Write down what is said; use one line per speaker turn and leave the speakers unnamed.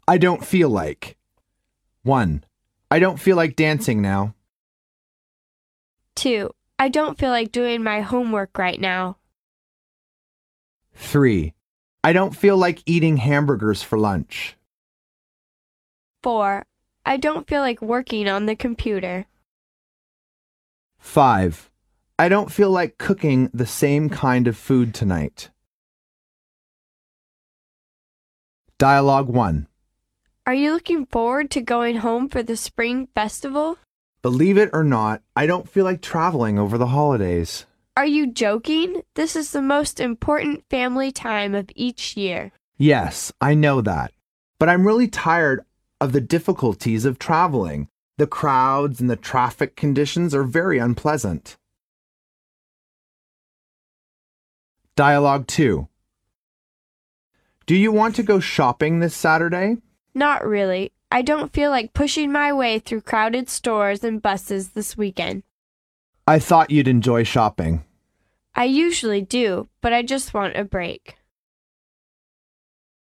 I don't feel like. 1. I don't feel like dancing now.
2. I don't feel like doing my homework right now.
3. I don't feel like eating hamburgers for lunch.
4. I don't feel like working on the computer.
5. I don't feel like cooking the same kind of food tonight. Dialogue 1.
Are you looking forward to going home for the spring festival?
Believe it or not, I don't feel like traveling over the holidays.
Are you joking? This is the most important family time of each year.
Yes, I know that. But I'm really tired of the difficulties of traveling. The crowds and the traffic conditions are very unpleasant. Dialogue 2. Do you want to go shopping this Saturday?
Not really. I don't feel like pushing my way through crowded stores and buses this weekend.
I thought you'd enjoy shopping.
I usually do, but I just want a break.